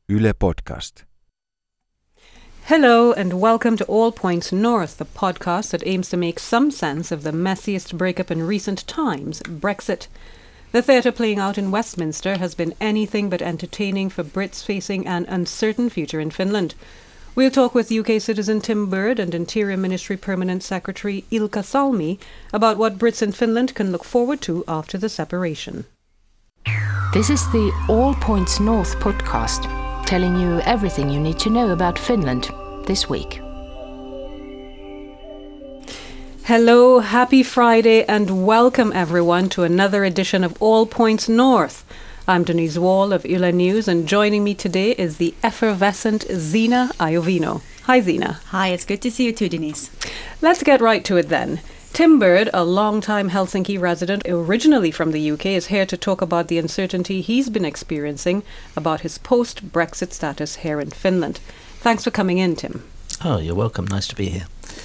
Yle Podcast. Hello and welcome to All Points North, the podcast that aims to make some sense of the messiest breakup in recent times, Brexit. The theatre playing out in Westminster has been anything but entertaining for Brits facing an uncertain future in Finland. We'll talk with UK citizen Tim Bird and Interior Ministry Permanent Secretary Ilkka Salmi about what Brits in Finland can look forward to after the separation. This is the All Points North podcast, telling you everything you need to know about Finland this week. Hello, happy Friday and welcome everyone to another edition of All Points North. I'm Denise Wall of Yle News and joining me today is the effervescent Zina Iovino. Hi Zina. Hi, it's good to see you too, Denise. Let's get right to it then. Tim Bird, a long-time Helsinki resident originally from the UK, is here to talk about the uncertainty he's been experiencing about his post-Brexit status here in Finland. Thanks for coming in, Tim. Oh, you're welcome. Nice to be here.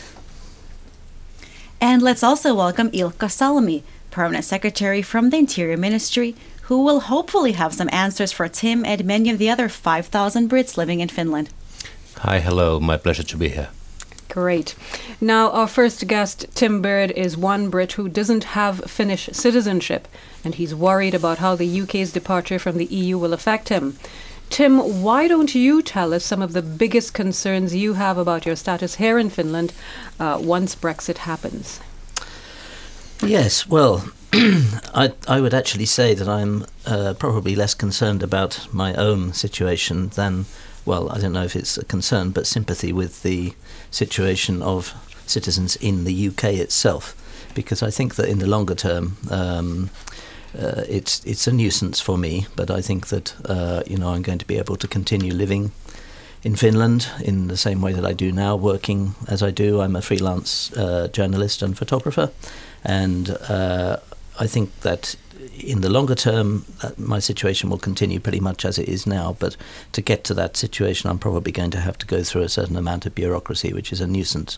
And let's also welcome Ilkka Salmi, Permanent Secretary from the Interior Ministry, who will hopefully have some answers for Tim and many of the other 5,000 Brits living in Finland. Hi, hello. My pleasure to be here. Great. Now, our first guest, Tim Bird, is one Brit who doesn't have Finnish citizenship, and he's worried about how the UK's departure from the EU will affect him. Tim, why don't you tell us some of the biggest concerns you have about your status here in Finland once Brexit happens? Yes, well, I would actually say that I'm probably less concerned about my own situation than, well, I don't know if it's a concern, but sympathy with the situation of citizens in the UK itself, because I think that in the longer term, it's a nuisance for me, but I think that I'm going to be able to continue living in Finland in the same way that I do now, working as I do. I'm a freelance journalist and photographer, and I think that in the longer term, my situation will continue pretty much as it is now. But to get to that situation, I'm probably going to have to go through a certain amount of bureaucracy, which is a nuisance.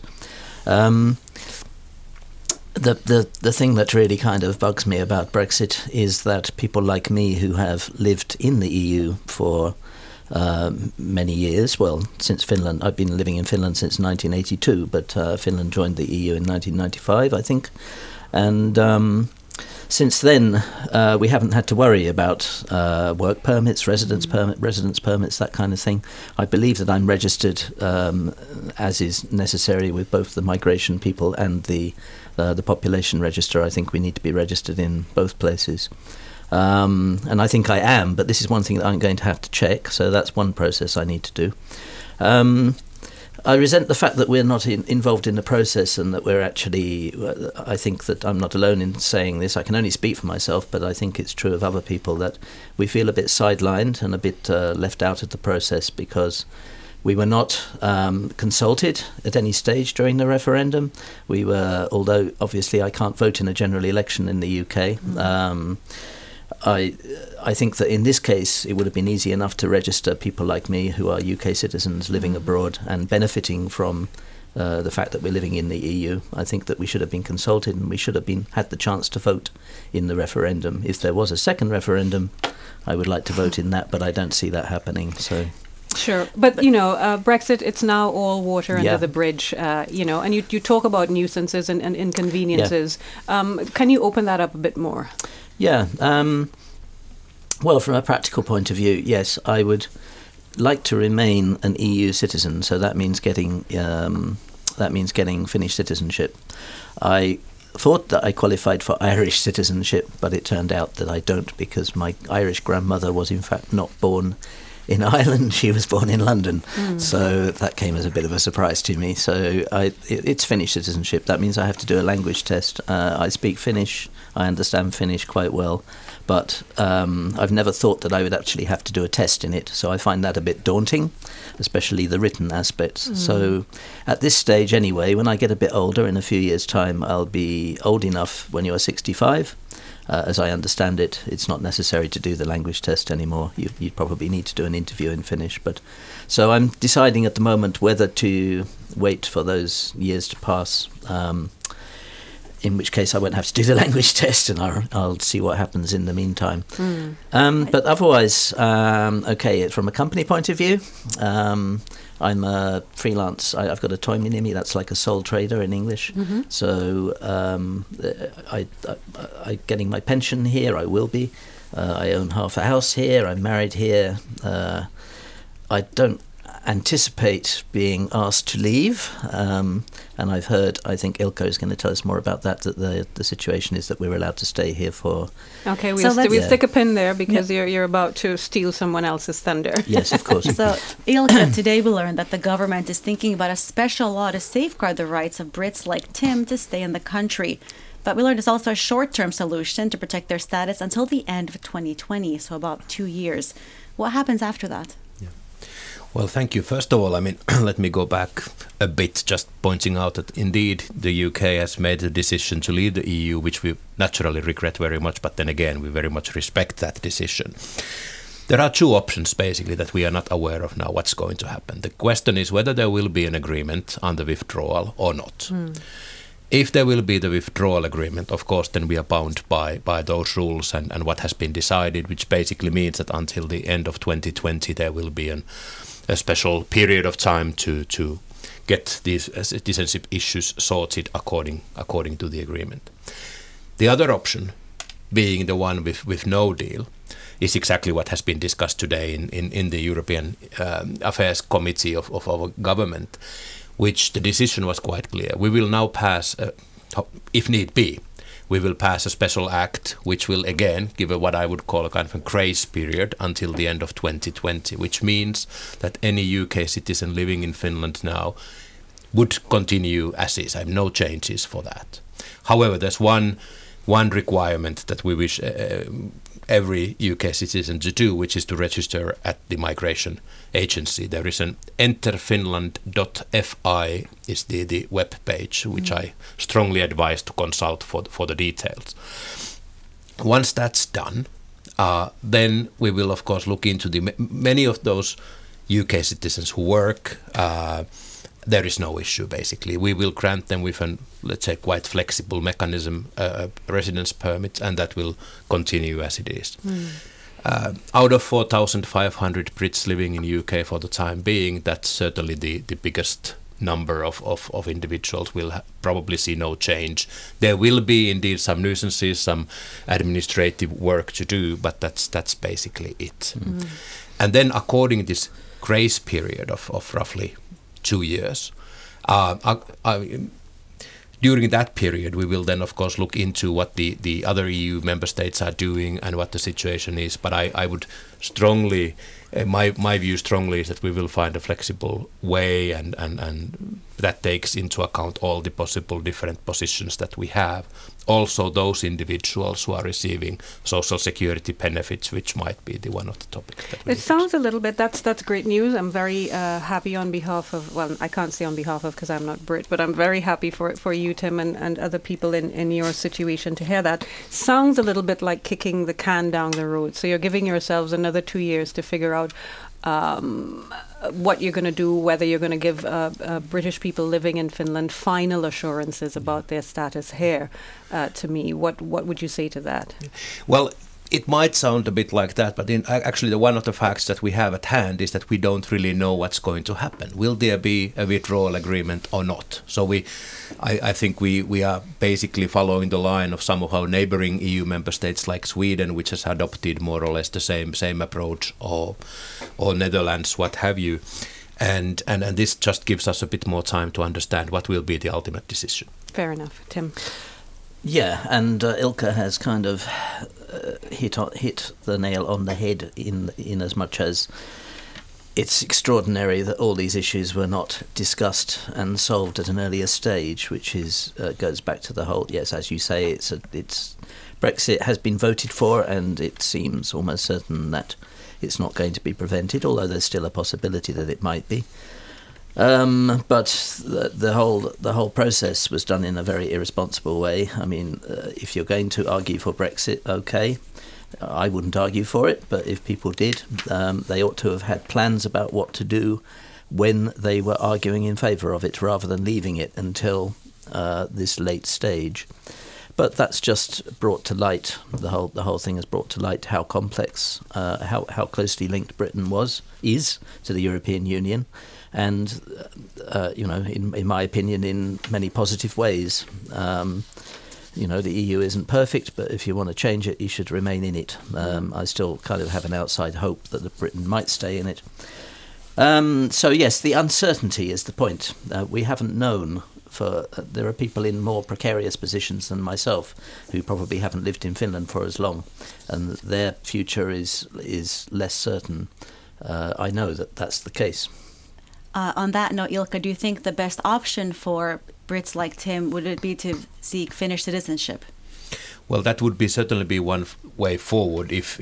The thing that really kind of bugs me about Brexit is that people like me who have lived in the EU for many years, well, since Finland, I've been living in Finland since 1982, but Finland joined the EU in 1995, I think. And since then, we haven't had to worry about work permits, residence permits, that kind of thing. I believe that I'm registered, as is necessary with both the migration people and the population register. I think we need to be registered in both places. And I think I am, but this is one thing that I'm going to have to check. So that's one process I need to do. I resent the fact that we're not involved in the process and that we're actually, I think that I'm not alone in saying this. I can only speak for myself, but I think it's true of other people that we feel a bit sidelined and a bit left out of the process because we were not consulted at any stage during the referendum. We were, although obviously I can't vote in a general election in the UK, I think that in this case it would have been easy enough to register people like me who are UK citizens living abroad and benefiting from the fact that we're living in the EU. I think that we should have been consulted and we should have had the chance to vote in the referendum. If there was a second referendum, I would like to vote in that, but I don't see that happening. So. Sure. But Brexit, it's now all water under the bridge, and you talk about nuisances and inconveniences. Yeah. Can you open that up a bit more? Yeah. Well, from a practical point of view, yes, I would like to remain an EU citizen. So that means getting Finnish citizenship. I thought that I qualified for Irish citizenship, but it turned out that I don't because my Irish grandmother was in fact not born in Ireland. She was born in London. So that came as a bit of a surprise to me. So it's Finnish citizenship. That means I have to do a language test. I speak Finnish. I understand Finnish quite well. But I've never thought that I would actually have to do a test in it. So I find that a bit daunting, especially the written aspects. So at this stage anyway, when I get a bit older, in a few years' time, I'll be old enough when you're 65. As I understand it, it's not necessary to do the language test anymore. You probably need to do an interview in Finnish. So I'm deciding at the moment whether to wait for those years to pass in which case I won't have to do the language test, and I'll see what happens in the meantime. But otherwise, okay, from a company point of view, I'm a freelance. I've got a toy near me. That's like a sole trader in English. So I'm getting my pension here. I will be. I own half a house here. I'm married here. I don't anticipate being asked to leave, and I've heard, I think Ilkka is going to tell us more about that the situation is that we're allowed to stay here for... Okay, we'll stick a pin there because you're about to steal someone else's thunder. Yes, of course. So, Ilkka, today we learned that the government is thinking about a special law to safeguard the rights of Brits like Tim to stay in the country. But we learned it's also a short-term solution to protect their status until the end of 2020, so about 2 years. What happens after that? Well, thank you. First of all, I mean, let me go back a bit, just pointing out that indeed the UK has made the decision to leave the EU, which we naturally regret very much, but then again, we very much respect that decision. There are two options, basically, that we are not aware of now what's going to happen. The question is whether there will be an agreement on the withdrawal or not. If there will be the withdrawal agreement, of course, then we are bound by those rules and what has been decided, which basically means that until the end of 2020, there will be a special period of time to get these citizenship issues sorted according to the agreement. The other option, being the one with no deal, is exactly what has been discussed today in the European Affairs Committee of our government, which the decision was quite clear. We will now pass, if need be, we will pass a special act which will again give what I would call a kind of a grace period until the end of 2020, which means that any UK citizen living in Finland now would continue as is. I have no changes for that. However, there's one requirement that we wish every UK citizen to do, which is to register at the migration agency. There is an enterfinland.fi is the web page, which I strongly advise to consult for the details. Once that's done, then we will of course look into many of those UK citizens who work. There is no issue, basically. We will grant them with an, let's say, quite flexible mechanism, residence permit, and that will continue as it is. Out of 4,500 Brits living in UK for the time being, that's certainly the biggest number of individuals. Will probably see no change. There will be indeed some nuisances, some administrative work to do, but that's basically it. And then according to this grace period of roughly 2 years, during that period, we will then, of course, look into what the other EU member states are doing and what the situation is. But I would strongly, my view strongly is that we will find a flexible way and that takes into account all the possible different positions that we have. Also those individuals who are receiving social security benefits, which might be one of the topics. It sounds a little bit, that's great news. I'm very happy on behalf of, well, I can't say on behalf of because I'm not Brit, but I'm very happy for you, Tim, and other people in your situation to hear that. Sounds a little bit like kicking the can down the road. So you're giving yourselves another 2 years to figure out what you're going to do, whether you're going to give British people living in Finland final assurances about their status here. To me, what would you say to that? Well, it might sound a bit like that, but actually one of the facts that we have at hand is that we don't really know what's going to happen. Will there be a withdrawal agreement or not? So I think we are basically following the line of some of our neighboring EU member states like Sweden, which has adopted more or less the same approach, or Netherlands, what have you. And this just gives us a bit more time to understand what will be the ultimate decision. Fair enough. Tim? Yeah, and Ilkka has kind of hit the nail on the head in as much as it's extraordinary that all these issues were not discussed and solved at an earlier stage, which is goes back to the whole, yes, as you say, it's Brexit has been voted for, and it seems almost certain that it's not going to be prevented, although there's still a possibility that it might be. But the whole process was done in a very irresponsible way. I mean, if you're going to argue for Brexit, okay, I wouldn't argue for it, but if people did, they ought to have had plans about what to do when they were arguing in favour of it, rather than leaving it until this late stage. But that's just brought to light, the whole thing has brought to light how complex, how closely linked Britain is to the European Union, and in my opinion, in many positive ways. The EU isn't perfect, but if you want to change it, you should remain in it. I still kind of have an outside hope that Britain might stay in it. So yes, the uncertainty is the point. We haven't known. There are people in more precarious positions than myself who probably haven't lived in Finland for as long, and their future is less certain. I know that's the case. On that note, Ilkka, do you think the best option for Brits like Tim would it be to seek Finnish citizenship? Well, that would certainly be one way forward if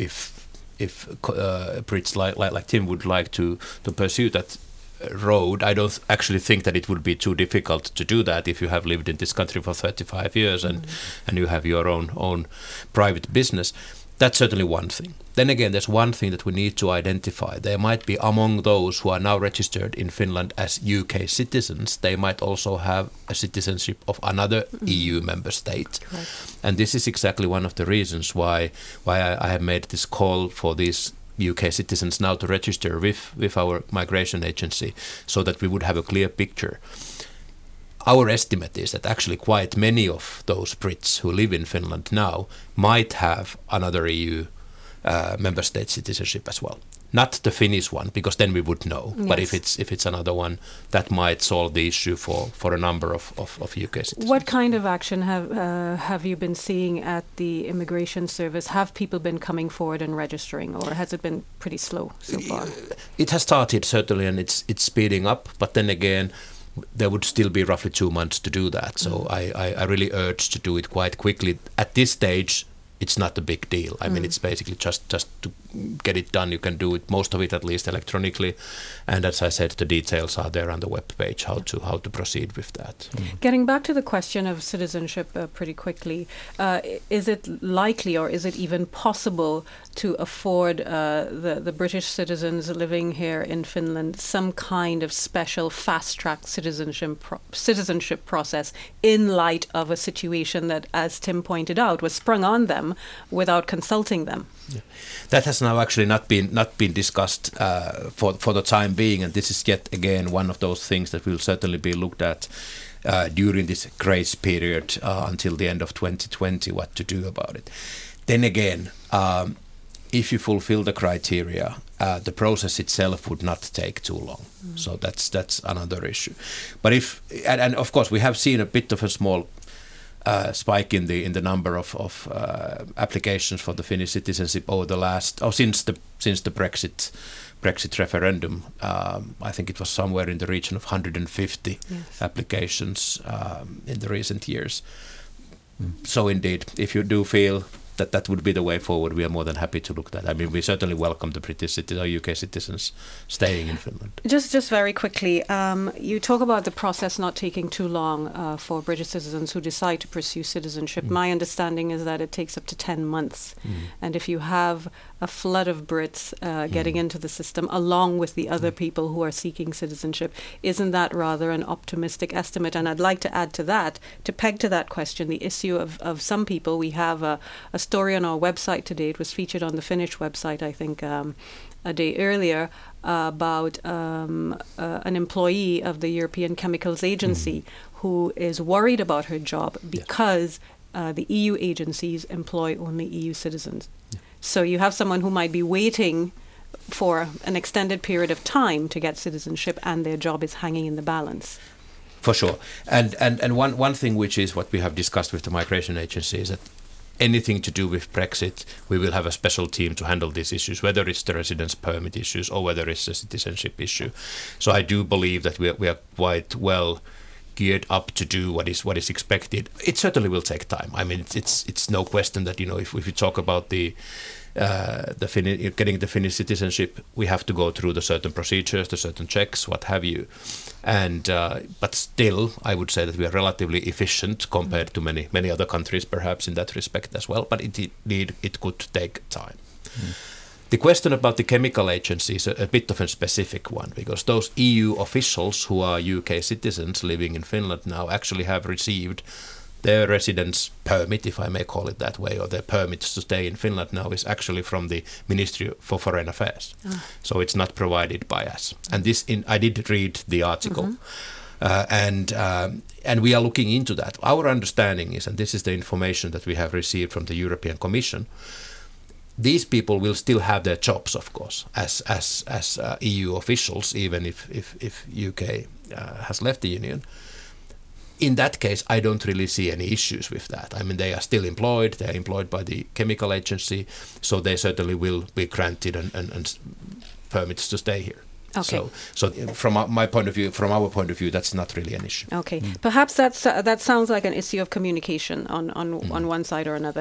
Brits like Tim would like to pursue that road. I don't actually think that it would be too difficult to do that if you have lived in this country for 35 years and you have your own private business. That's certainly one thing. Then again, there's one thing that we need to identify. There might be among those who are now registered in Finland as UK citizens, they might also have a citizenship of another EU member state. Correct. And this is exactly one of the reasons why I have made this call for these UK citizens now to register with our migration agency so that we would have a clear picture. Our estimate is that actually quite many of those Brits who live in Finland now might have another EU member state citizenship as well. Not the Finnish one, because then we would know. Yes. But if it's another one, that might solve the issue for a number of UK citizens. What kind of action have you been seeing at the Immigration Service? Have people been coming forward and registering, or has it been pretty slow so far? It has started, certainly, and it's speeding up. But then again, there would still be roughly 2 months to do that. So I really urge to do it quite quickly. At this stage, it's not a big deal. I mean, it's basically just to get it done. You can do it, most of it at least electronically. And as I said, the details are there on the webpage, how to proceed with that. Getting back to the question of citizenship pretty quickly, is it likely or is it even possible to afford the British citizens living here in Finland some kind of special fast-track citizenship process in light of a situation that, as Tim pointed out, was sprung on them without consulting them? Yeah. That has now actually not been discussed for the time being, and this is yet again one of those things that will certainly be looked at during this grace period until the end of 2020, what to do about it. Then again, if you fulfill the criteria, the process itself would not take too long. So that's another issue. But and of course we have seen a bit of a small spike in the number of applications for the Finnish citizenship over the since the Brexit referendum. I think it was somewhere in the region of 150 applications in the recent years. So indeed, if you do feel that would be the way forward, we are more than happy to look at that. I mean, we certainly welcome the British citizens or UK citizens staying in Finland. Just very quickly, you talk about the process not taking too long for British citizens who decide to pursue citizenship. My understanding is that it takes up to 10 months. And if you have a flood of Brits getting into the system along with the other people who are seeking citizenship, isn't that rather an optimistic estimate? And I'd like to add to that, to peg to that question, the issue of some people. We have a story on our website today. It was featured on the Finnish website, I think, a day earlier, about an employee of the European Chemicals Agency who is worried about her job because the EU agencies employ only EU citizens. So you have someone who might be waiting for an extended period of time to get citizenship, and their job is hanging in the balance. For sure. And one thing which is what we have discussed with the migration agency is that anything to do with Brexit, we will have a special team to handle these issues, whether it's the residence permit issues or whether it's a citizenship issue. So I do believe that we are quite well geared up to do what is expected. It certainly will take time. I mean, it's no question that, you know, if we talk about getting the Finnish citizenship, we have to go through the certain procedures, the certain checks, what have you. And but still, I would say that we are relatively efficient compared to many other countries, perhaps in that respect as well. But it could take time. The question about the chemical agency is a bit of a specific one, because those EU officials who are UK citizens living in Finland now actually have received their residence permit, if I may call it that way, or their permits to stay in Finland now is actually from the Ministry for Foreign Affairs. So it's not provided by us. And this, I did read the article. And we are looking into that. Our understanding is, and this is the information that we have received from the European Commission, these people will still have their jobs, of course, as EU officials, even if UK has left the Union. In that case, I don't really see any issues with that. I mean, they are still employed. They are employed by the chemical agency, so they certainly will be granted and permits to stay here. Okay. So from my point of view, from our point of view, that's not really an issue. Okay. Perhaps that sounds like an issue of communication on one side or another.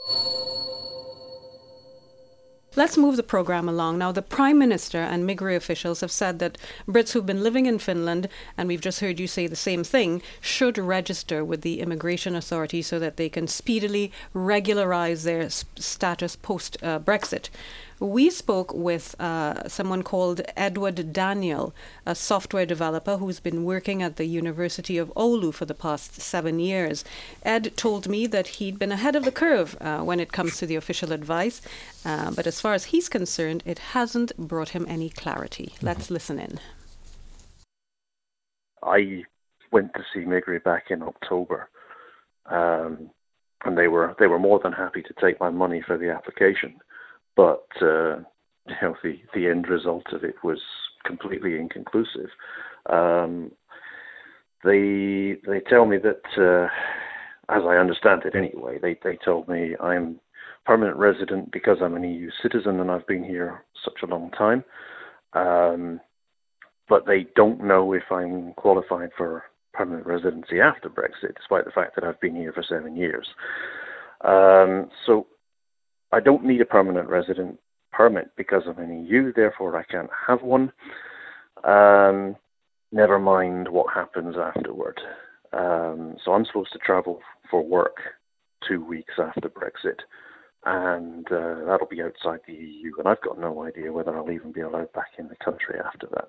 Let's move the program along. Now, the Prime Minister and Migri officials have said that Brits who've been living in Finland, and we've just heard you say the same thing, should register with the immigration authority so that they can speedily regularize their status post-Brexit. We spoke with someone called Edward Daniel, a software developer who's been working at the University of Oulu for the past 7 years. Ed told me that he'd been ahead of the curve when it comes to the official advice, but as far as he's concerned, it hasn't brought him any clarity. Let's listen in. I went to see Migri back in October, and they were more than happy to take my money for the application. But the end result of it was completely inconclusive. They tell me that, as I understand it anyway, they told me I'm permanent resident because I'm an EU citizen and I've been here such a long time. But they don't know if I'm qualified for permanent residency after Brexit, despite the fact that I've been here for 7 years. So I don't need a permanent resident permit because I'm an EU, therefore I can't have one. Never mind what happens afterward. So I'm supposed to travel for work 2 weeks after Brexit, and that'll be outside the EU, and I've got no idea whether I'll even be allowed back in the country after that.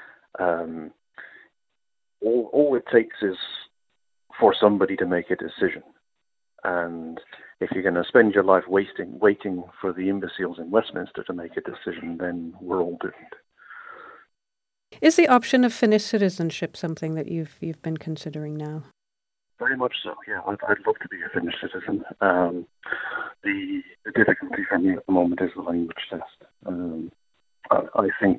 All it takes is for somebody to make a decision. And if you're going to spend your life waiting for the imbeciles in Westminster to make a decision, then we're all doomed. Is the option of Finnish citizenship something that you've been considering now? Very much so, yeah. I'd love to be a Finnish citizen. The difficulty for me at the moment is the language test. I think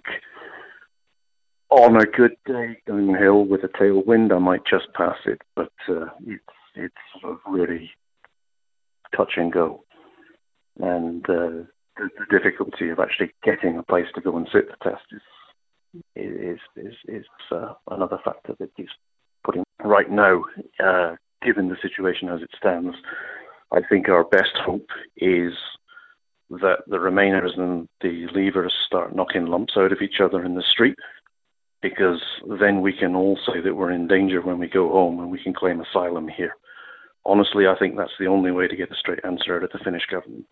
on a good day downhill with a tailwind, I might just pass it, but it's sort of really touch and go. And the difficulty of actually getting a place to go and sit the test is another factor that keeps putting. Right now, given the situation as it stands, I think our best hope is that the Remainers and the Leavers start knocking lumps out of each other in the street, because then we can all say that we're in danger when we go home and we can claim asylum here. Honestly, I think that's the only way to get a straight answer out of the Finnish government.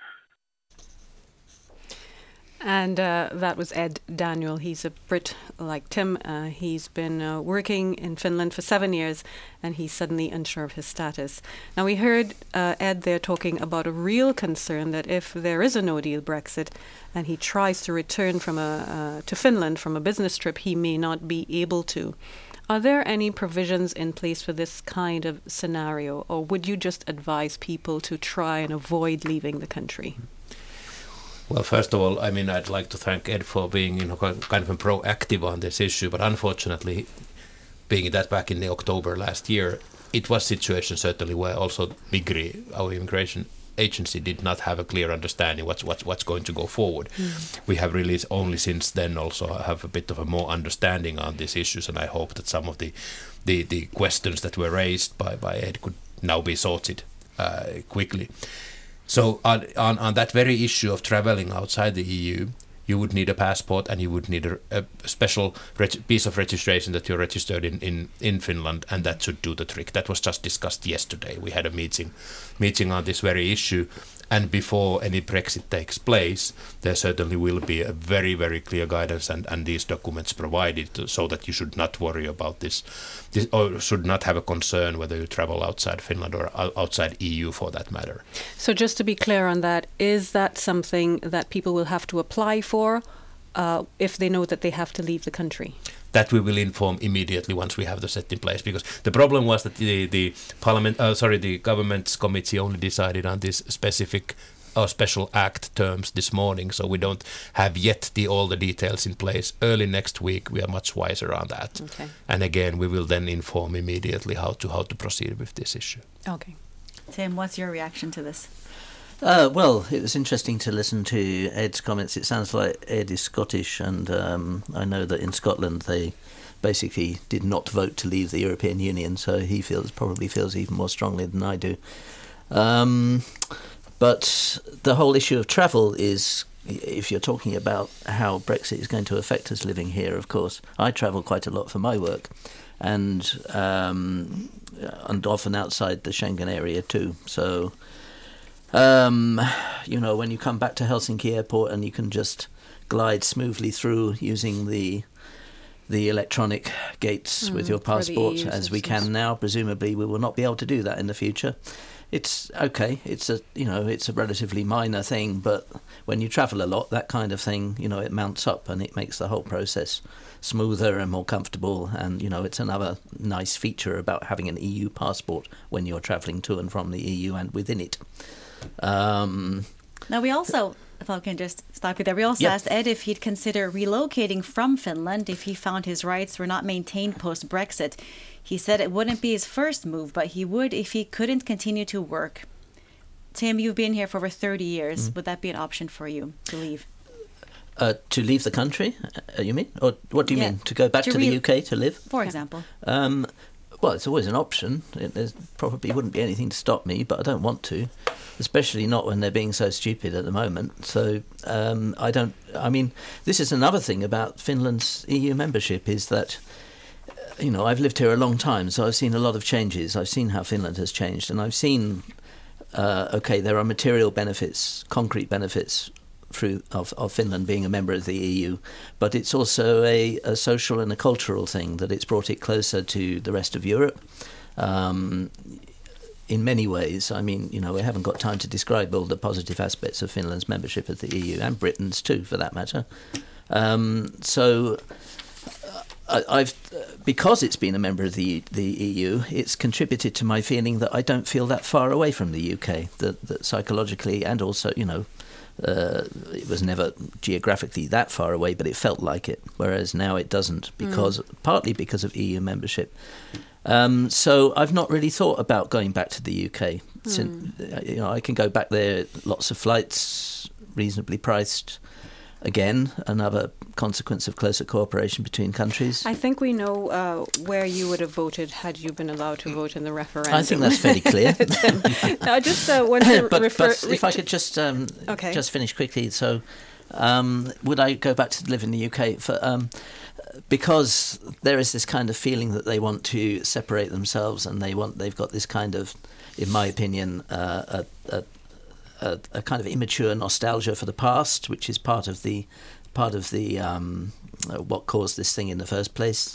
And that was Ed Daniel. He's a Brit like Tim. He's been working in Finland for 7 years, and he's suddenly unsure of his status. Now, we heard Ed there talking about a real concern that if there is a no-deal Brexit and he tries to return to Finland from a business trip, he may not be able to. Are there any provisions in place for this kind of scenario, or would you just advise people to try and avoid leaving the country? Well, first of all, I mean, I'd like to thank Ed for being, kind of proactive on this issue. But unfortunately, being that back in October last year, it was a situation certainly where also Migri, our immigration agency, did not have a clear understanding what's going to go forward. We have really only since then also have a bit of a more understanding on these issues, and I hope that some of the questions that were raised by Ed could now be sorted quickly. So on that very issue of traveling outside the EU, you would need a passport and you would need a special piece of registration that you're registered in Finland, and that should do the trick. That was just discussed yesterday. We had a meeting on this very issue, And before any Brexit takes place, there certainly will be a very, very clear guidance and these documents provided so that you should not worry about this or should not have a concern whether you travel outside Finland or outside EU for that matter. So just to be clear on that, is that something that people will have to apply for if they know that they have to leave the country? That we will inform immediately once we have the set in place, because the problem was that the government's committee only decided on this specific special act terms this morning, so we don't have yet all the details in place. Early next week we are much wiser on that. Okay. And again, we will then inform immediately how to proceed with this issue. Okay. Tim, what's your reaction to this? Well, it was interesting to listen to Ed's comments. It sounds like Ed is Scottish, and I know that in Scotland they basically did not vote to leave the European Union, so he probably feels even more strongly than I do. But the whole issue of travel is, if you're talking about how Brexit is going to affect us living here, of course, I travel quite a lot for my work, and often outside the Schengen area too, so... when you come back to Helsinki Airport and you can just glide smoothly through using the electronic gates with your passport, as we can now, presumably we will not be able to do that in the future. It's okay. It's a relatively minor thing, but when you travel a lot, that kind of thing, it mounts up and it makes the whole process smoother and more comfortable. And, it's another nice feature about having an EU passport when you're travelling to and from the EU and within it. Now we also, if I can just stop you there, we also asked Ed if he'd consider relocating from Finland if he found his rights were not maintained post-Brexit. He said it wouldn't be his first move, but he would if he couldn't continue to work. Tim, you've been here for over 30 years. Would that be an option for you to leave? To leave the country, you mean? Or what do you mean? To go back to the UK to live? For example. Well, it's always an option. There probably wouldn't be anything to stop me, but I don't want to, especially not when they're being so stupid at the moment. So this is another thing about Finland's EU membership is that, I've lived here a long time, so I've seen a lot of changes. I've seen how Finland has changed, and I've seen, there are material benefits, concrete benefits of Finland being a member of the EU, but it's also a social and a cultural thing, that it's brought it closer to the rest of Europe. In many ways, we haven't got time to describe all the positive aspects of Finland's membership of the EU, and Britain's too, for that matter. Because it's been a member of the EU, it's contributed to my feeling that I don't feel that far away from the UK, that psychologically, and also, it was never geographically that far away, but it felt like it, whereas now it doesn't, partly because of EU membership. So I've not really thought about going back to the UK. I can go back there, lots of flights, reasonably priced. Again, another consequence of closer cooperation between countries. I think we know where you would have voted had you been allowed to vote in the referendum. I think that's fairly clear. No, I just want to refer... But if I could just finish quickly. So, would I go back to live in the UK? Because there is this kind of feeling that they want to separate themselves, and they've got this kind of, in my opinion, a kind of immature nostalgia for the past, which is part of the what caused this thing in the first place.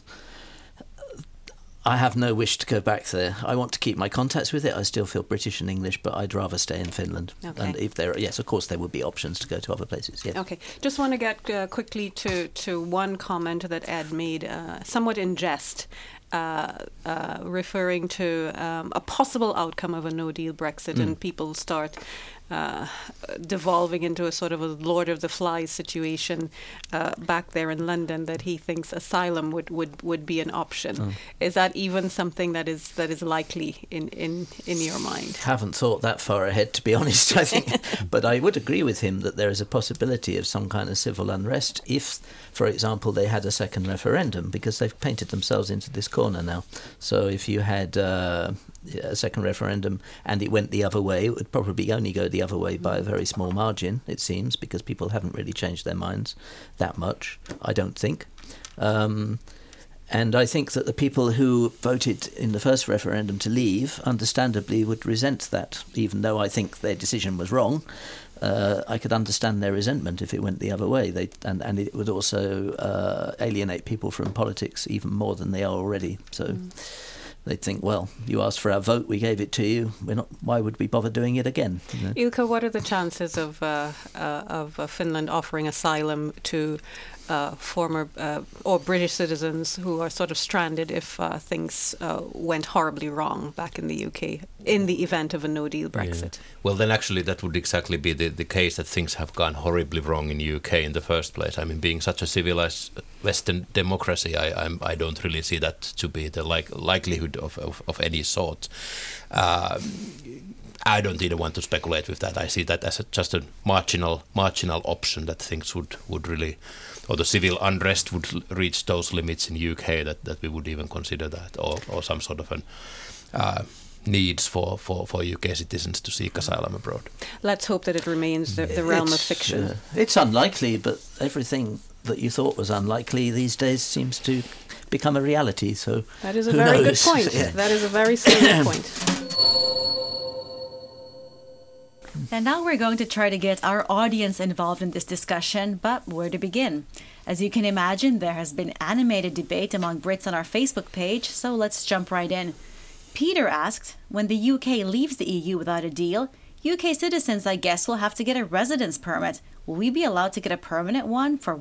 I have no wish to go back there. I want to keep my contacts with it. I still feel British and English, but I'd rather stay in Finland. Okay. And if of course, there would be options to go to other places. Yeah. Okay. Just want to get quickly to one comment that Ed made, somewhat in jest, referring to a possible outcome of a no-deal Brexit, and people start devolving into a sort of a Lord of the Flies situation back there in London, that he thinks asylum would be an option. Is that even something that is likely in your mind? Haven't thought that far ahead, to be honest, I think. But I would agree with him that there is a possibility of some kind of civil unrest if, for example, they had a second referendum, because they've painted themselves into this corner now. So if you had a second referendum and it went the other way, it would probably only go the other way by a very small margin, it seems, because people haven't really changed their minds that much, I don't think. And I think that the people who voted in the first referendum to leave, understandably, would resent that, even though I think their decision was wrong. I could understand their resentment if it went the other way. And it would also alienate people from politics even more than they are already. So they'd think, well, you asked for our vote, we gave it to you. Why would we bother doing it again? You know? Ilkka, what are the chances of Finland offering asylum to former or British citizens who are sort of stranded if things went horribly wrong back in the UK in the event of a no-deal Brexit? Yeah. Well, then actually that would exactly be the case, that things have gone horribly wrong in the UK in the first place. I mean, being such a civilized Western democracy, I don't really see that to be the likelihood of any sort. I don't even want to speculate with that. I see that as just a marginal option, that things would really, or the civil unrest would reach those limits in UK that we would even consider that, or some sort of an needs for UK citizens to seek asylum abroad. Let's hope that it remains the realm of fiction. It's unlikely, but everything that you thought was unlikely these days seems to become a reality. So that is a very good point. Yeah. That is a very serious point. And now we're going to try to get our audience involved in this discussion, but where to begin? As you can imagine, there has been animated debate among Brits on our Facebook page, so let's jump right in. Peter asked, when the UK leaves the EU without a deal, UK citizens, I guess, will have to get a residence permit. Will we be allowed to get a permanent one for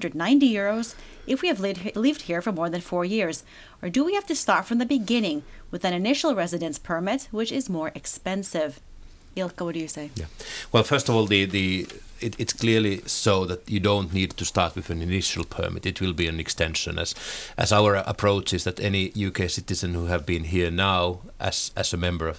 €190 if we have lived here for more than 4 years? Or do we have to start from the beginning with an initial residence permit, which is more expensive? Ilkka, what do you say? Yeah. Well, first of all, it's clearly so that you don't need to start with an initial permit. It will be an extension, as our approach is that any UK citizen who have been here now as a member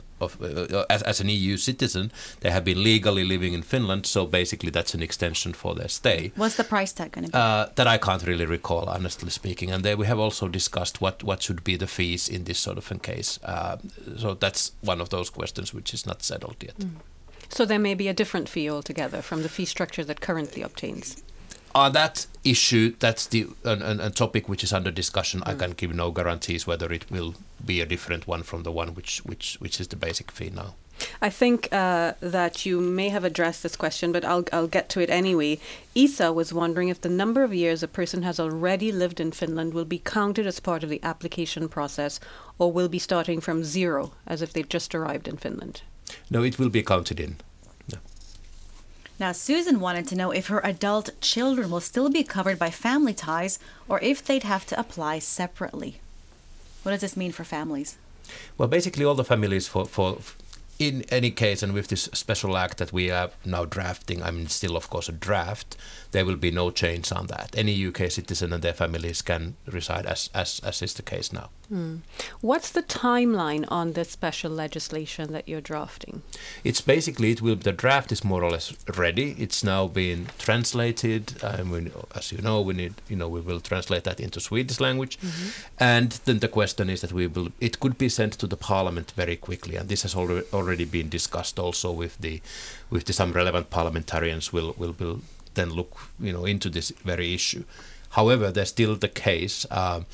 as an EU citizen, they have been legally living in Finland. So basically, that's an extension for their stay. What's the price tag going to be? That I can't really recall, honestly speaking. And there we have also discussed what should be the fees in this sort of a case. So that's one of those questions which is not settled yet. So there may be a different fee altogether from the fee structure that currently obtains. On that issue, that's a topic which is under discussion. I can give no guarantees whether it will be a different one from the one which is the basic fee now. I think that you may have addressed this question, but I'll get to it anyway. Isa was wondering if the number of years a person has already lived in Finland will be counted as part of the application process, or will be starting from zero, as if they've just arrived in Finland. No, it will be counted in. No. Now, Susan wanted to know if her adult children will still be covered by family ties, or if they'd have to apply separately. What does this mean for families? Well, basically all the families for in any case, and with this special act that we are now drafting, I mean, still, of course, a draft, there will be no change on that. Any UK citizen and their families can reside as is the case now. What's the timeline on this special legislation that you're drafting? It's basically, the draft is more or less ready. It's now being translated. As you know, we will translate that into Swedish language. And then the question is that it could be sent to the parliament very quickly. And this has already been discussed also with some relevant parliamentarians will then look into this very issue. However, there's still the case.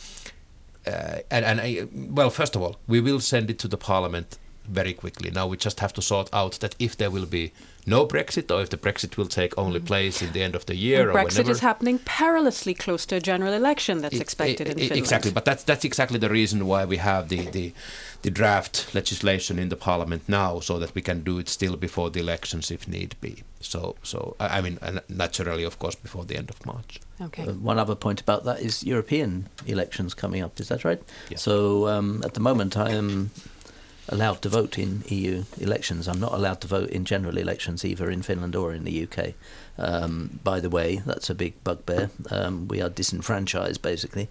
Well, first of all, we will send it to the parliament very quickly. Now we just have to sort out that if there will be no Brexit, or if the Brexit will take only place in the end of the year, and or Brexit whenever. is happening perilously close to a general election that's expected in Finland. Exactly, but that's exactly the reason why we have the draft legislation in the parliament now, so that we can do it still before the elections if need be. So I mean, naturally, of course, before the end of March. Okay. One other point about that is European elections coming up. Is that right? Yeah. So at the moment, I am allowed to vote in EU elections. I'm not allowed to vote in general elections either in Finland or in the UK. By the way, that's a big bugbear. We are disenfranchised, basically.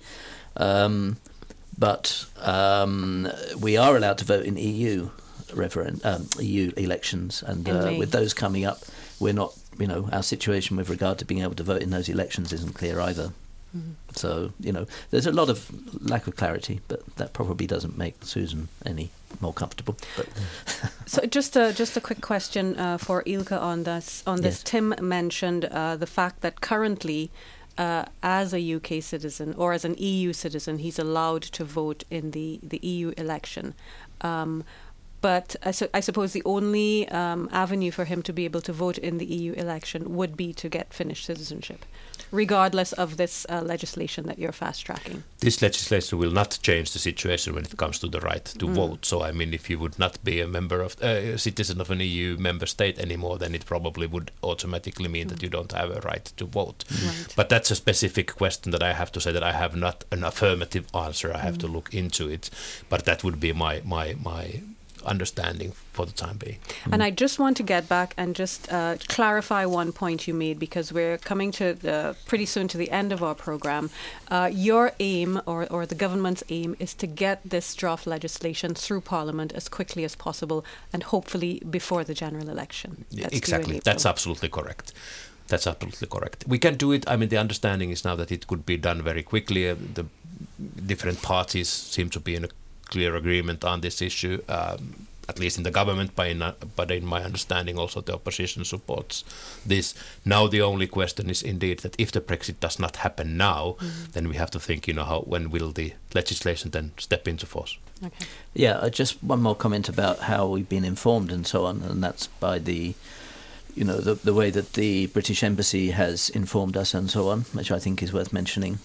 But we are allowed to vote in EU EU elections, and with those coming up, we're not, our situation with regard to being able to vote in those elections isn't clear either. So, there's a lot of lack of clarity, but that probably doesn't make Susan any more comfortable. But So just a quick question for Ilkka on this. Yes. Tim mentioned the fact that currently as a UK citizen or as an EU citizen, he's allowed to vote in the EU election. But I suppose the only avenue for him to be able to vote in the EU election would be to get Finnish citizenship, regardless of this legislation that you're fast-tracking. This legislation will not change the situation when it comes to the right to vote. So, I mean, if you would not be a member of a citizen of an EU member state anymore, then it probably would automatically mean that you don't have a right to vote. Right. But that's a specific question that I have to say that I have not an affirmative answer. I have to look into it. But that would be my understanding for the time being. And I just want to get back and just clarify one point you made, because we're coming to pretty soon to the end of our program. Your aim, or the government's aim, is to get this draft legislation through Parliament as quickly as possible, and hopefully before the general election. Exactly. That's absolutely correct. That's absolutely correct. We can do it. I mean, the understanding is now that it could be done very quickly. The different parties seem to be in a clear agreement on this issue, at least in the government, but in my understanding also the opposition supports this. Now the only question is indeed that if the Brexit does not happen now, then we have to think, when will the legislation then step into force? Okay. Yeah, just one more comment about how we've been informed and so on, and that's by the way that the British Embassy has informed us and so on, which I think is worth mentioning.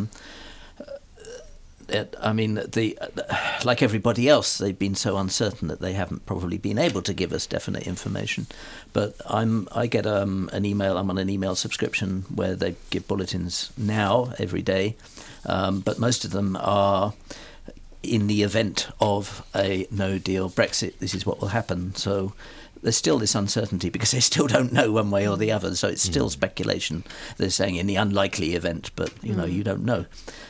Like everybody else, they've been so uncertain that they haven't probably been able to give us definite information. But I get an email. I'm on an email subscription where they give bulletins now every day, but most of them are in the event of a no-deal Brexit. This is what will happen. So there's still this uncertainty because they still don't know one way or the other. So it's still speculation. They're saying in the unlikely event, but you don't know.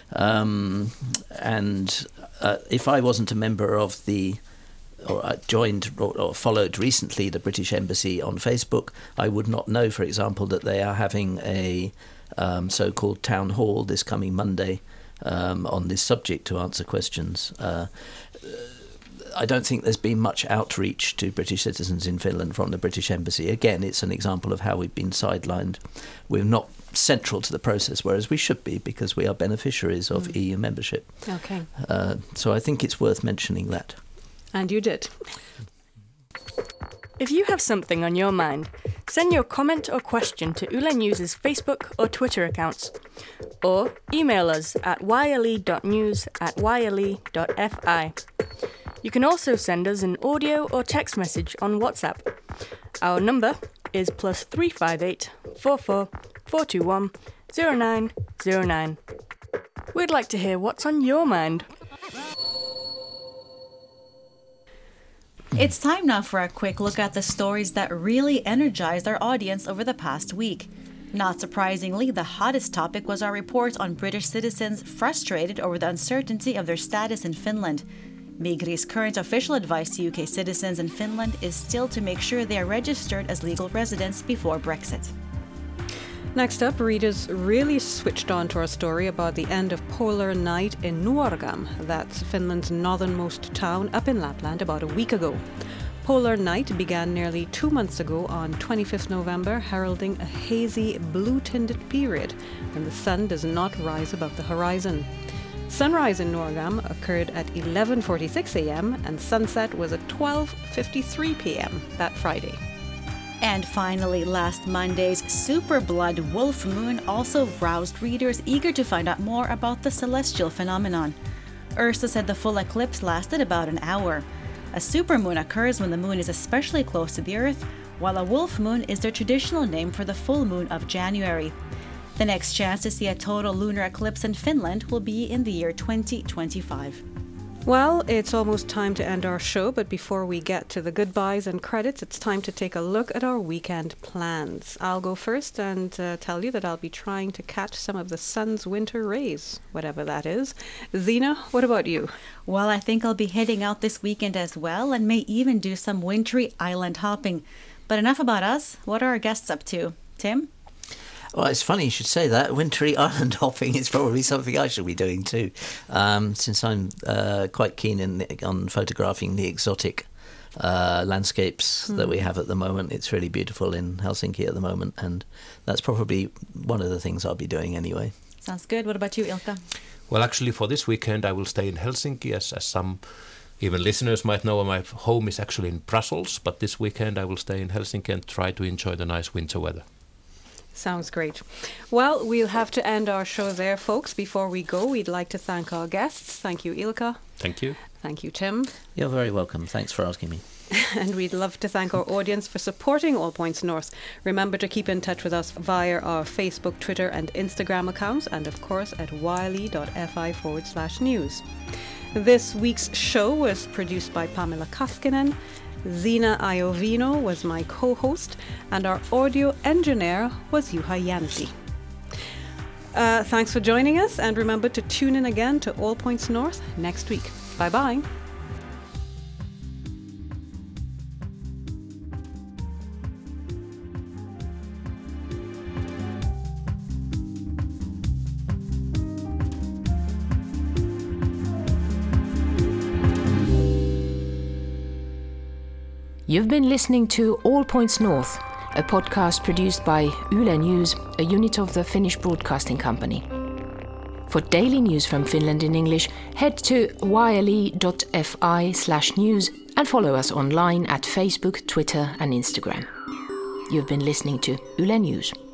And if I wasn't a member of or I joined or followed recently the British Embassy on Facebook, I would not know, for example, that they are having a so-called town hall this coming Monday on this subject to answer questions. I don't think there's been much outreach to British citizens in Finland from the British Embassy. Again, it's an example of how we've been sidelined. We're not central to the process, whereas we should be, because we are beneficiaries of EU membership. Okay. So I think it's worth mentioning that. And you did. If you have something on your mind, send your comment or question to Yle News's Facebook or Twitter accounts, or email us at yle.news@yle.fi. You can also send us an audio or text message on WhatsApp. Our number is +358 44 421 0909. We'd like to hear what's on your mind. It's time now for a quick look at the stories that really energized our audience over the past week. Not surprisingly, the hottest topic was our report on British citizens frustrated over the uncertainty of their status in Finland. Migri's current official advice to UK citizens in Finland is still to make sure they are registered as legal residents before Brexit. Next up, readers really switched on to our story about the end of Polar Night in Nuorgam. That's Finland's northernmost town up in Lapland about a week ago. Polar Night began nearly 2 months ago on 25th November, heralding a hazy, blue-tinted period when the sun does not rise above the horizon. Sunrise in Nuorgam occurred at 11:46 a.m. and sunset was at 12:53 p.m. that Friday. And finally, last Monday's super blood wolf moon also roused readers eager to find out more about the celestial phenomenon. Ursa said the full eclipse lasted about an hour. A supermoon occurs when the moon is especially close to the Earth, while a wolf moon is their traditional name for the full moon of January. The next chance to see a total lunar eclipse in Finland will be in the year 2025. Well, it's almost time to end our show, but before we get to the goodbyes and credits, it's time to take a look at our weekend plans. I'll go first and tell you that I'll be trying to catch some of the sun's winter rays, whatever that is. Zena, what about you? Well, I think I'll be heading out this weekend as well, and may even do some wintry island hopping. But enough about us. What are our guests up to? Tim? Well, it's funny you should say that. Wintry island hopping is probably something I should be doing too, since I'm quite keen on photographing the exotic landscapes that we have at the moment. It's really beautiful in Helsinki at the moment, and that's probably one of the things I'll be doing anyway. Sounds good. What about you, Ilkka? Well, actually, for this weekend, I will stay in Helsinki, as some even listeners might know. My home is actually in Brussels, but this weekend I will stay in Helsinki and try to enjoy the nice winter weather. Sounds great. Well, we'll have to end our show there, folks. Before we go, we'd like to thank our guests. Thank you, Ilkka. Thank you. Thank you, Tim. You're very welcome. Thanks for asking me. And we'd love to thank our audience for supporting All Points North. Remember to keep in touch with us via our Facebook, Twitter and Instagram accounts, and of course at yle.fi/news. This week's show was produced by Pamela Kaskinen. Zina Iovino was my co-host, and our audio engineer was Juha Jänsi. Thanks for joining us, and remember to tune in again to All Points North next week. Bye-bye. You've been listening to All Points North, a podcast produced by Yle News, a unit of the Finnish Broadcasting Company. For daily news from Finland in English, head to yle.fi/news and follow us online at Facebook, Twitter and Instagram. You've been listening to Yle News.